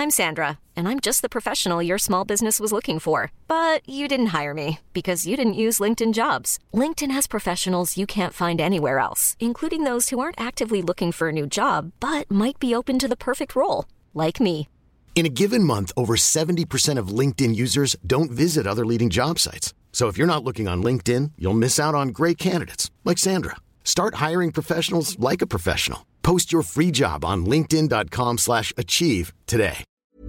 I'm Sandra, and I'm just the professional your small business was looking for. But you didn't hire me because you didn't use LinkedIn Jobs. LinkedIn has professionals you can't find anywhere else, including those who aren't actively looking for a new job, but might be open to the perfect role, like me. In a given month, over 70% of LinkedIn users don't visit other leading job sites. So if you're not looking on LinkedIn, you'll miss out on great candidates like Sandra. Start hiring professionals like a professional. Post your free job on linkedin.com/achieve today.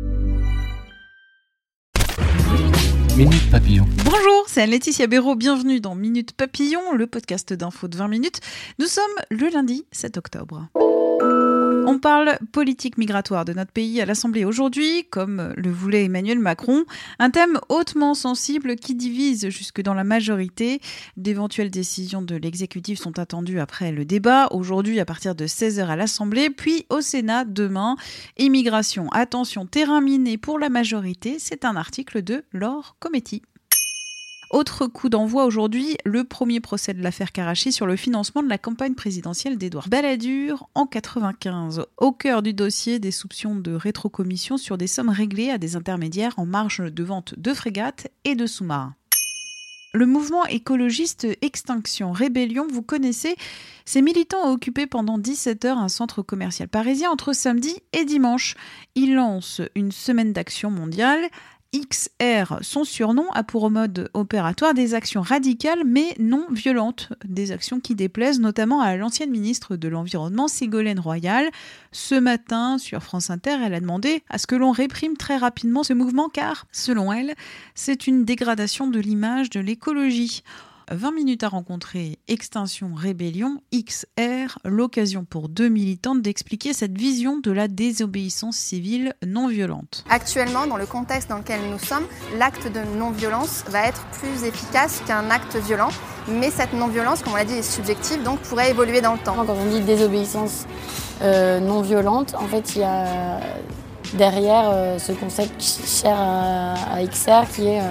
Minute Papillon. Bonjour, c'est Anne-Laetitia Béraud, bienvenue dans Minute Papillon, le podcast d'infos de 20 minutes. Nous sommes le lundi 7 octobre. On parle politique migratoire de notre pays à l'Assemblée aujourd'hui, comme le voulait Emmanuel Macron. Un thème hautement sensible qui divise jusque dans la majorité. D'éventuelles décisions de l'exécutif sont attendues après le débat, aujourd'hui à partir de 16h à l'Assemblée, puis au Sénat demain. Immigration, attention, terrain miné pour la majorité, c'est un article de Laure Cometti. Autre coup d'envoi aujourd'hui, le premier procès de l'affaire Karachi sur le financement de la campagne présidentielle d'Édouard Balladur en 1995. Au cœur du dossier, des soupçons de rétrocommission sur des sommes réglées à des intermédiaires en marge de vente de frégates et de sous-marins. Le mouvement écologiste Extinction Rébellion, vous connaissez, ces militants ont occupé pendant 17 heures un centre commercial parisien entre samedi et dimanche. Ils lancent une semaine d'action mondiale. XR, son surnom, a pour mode opératoire des actions radicales mais non violentes. Des actions qui déplaisent notamment à l'ancienne ministre de l'Environnement, Ségolène Royal. Ce matin, sur France Inter, elle a demandé à ce que l'on réprime très rapidement ce mouvement car, selon elle, c'est une dégradation de l'image de l'écologie. 20 minutes à rencontrer Extinction Rébellion, XR, l'occasion pour deux militantes d'expliquer cette vision de la désobéissance civile non violente. Actuellement, dans le contexte dans lequel nous sommes, l'acte de non-violence va être plus efficace qu'un acte violent. Mais cette non-violence, comme on l'a dit, est subjective, donc pourrait évoluer dans le temps. Quand on dit désobéissance non violente, en fait, il y a derrière ce concept cher à XR qui est...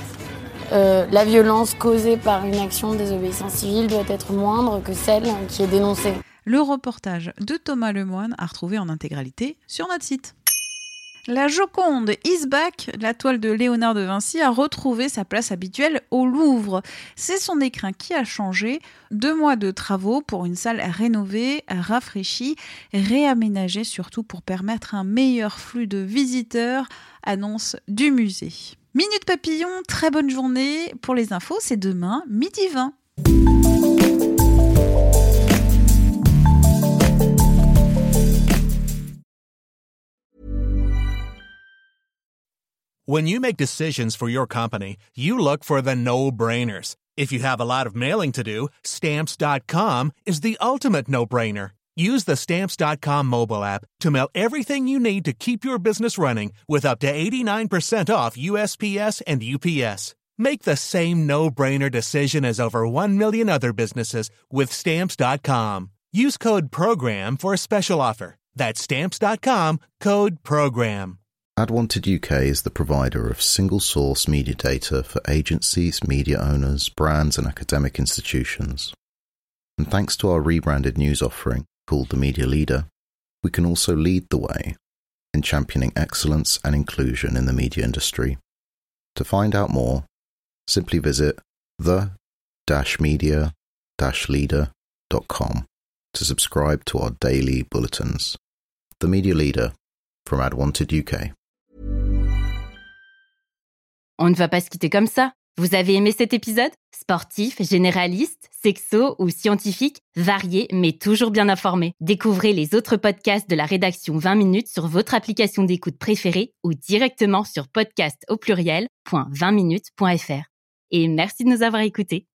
la violence causée par une action de désobéissance civile doit être moindre que celle qui est dénoncée. Le reportage de Thomas Lemoine à retrouver en intégralité sur notre site. La Joconde is back. La toile de Léonard de Vinci a retrouvé sa place habituelle au Louvre. C'est son écrin qui a changé. 2 mois de travaux pour une salle rénovée, rafraîchie, réaménagée surtout pour permettre un meilleur flux de visiteurs, annonce du musée. Minute Papillon, très bonne journée. Pour les infos, c'est demain, 12h20. When you make decisions for your company, you look for the no-brainers. If you have a lot of mailing to do, Stamps.com is the ultimate no-brainer. Use the Stamps.com mobile app to mail everything you need to keep your business running with up to 89% off USPS and UPS. Make the same no-brainer decision as over 1 million other businesses with Stamps.com. Use code PROGRAM for a special offer. That's Stamps.com, code PROGRAM. AdWanted UK is the provider of single-source media data for agencies, media owners, brands and academic institutions. And thanks to our rebranded news offering, called The Media Leader, we can also lead the way in championing excellence and inclusion in the media industry. To find out more, simply visit the-media-leader.com to subscribe to our daily bulletins. The Media Leader from AdWanted UK. On ne va pas se quitter comme ça. Vous avez aimé cet épisode ? Sportif, généraliste, sexo ou scientifique, varié mais toujours bien informé. Découvrez les autres podcasts de la rédaction 20 minutes sur votre application d'écoute préférée ou directement sur podcast@20minutes.fr. Et merci de nous avoir écoutés.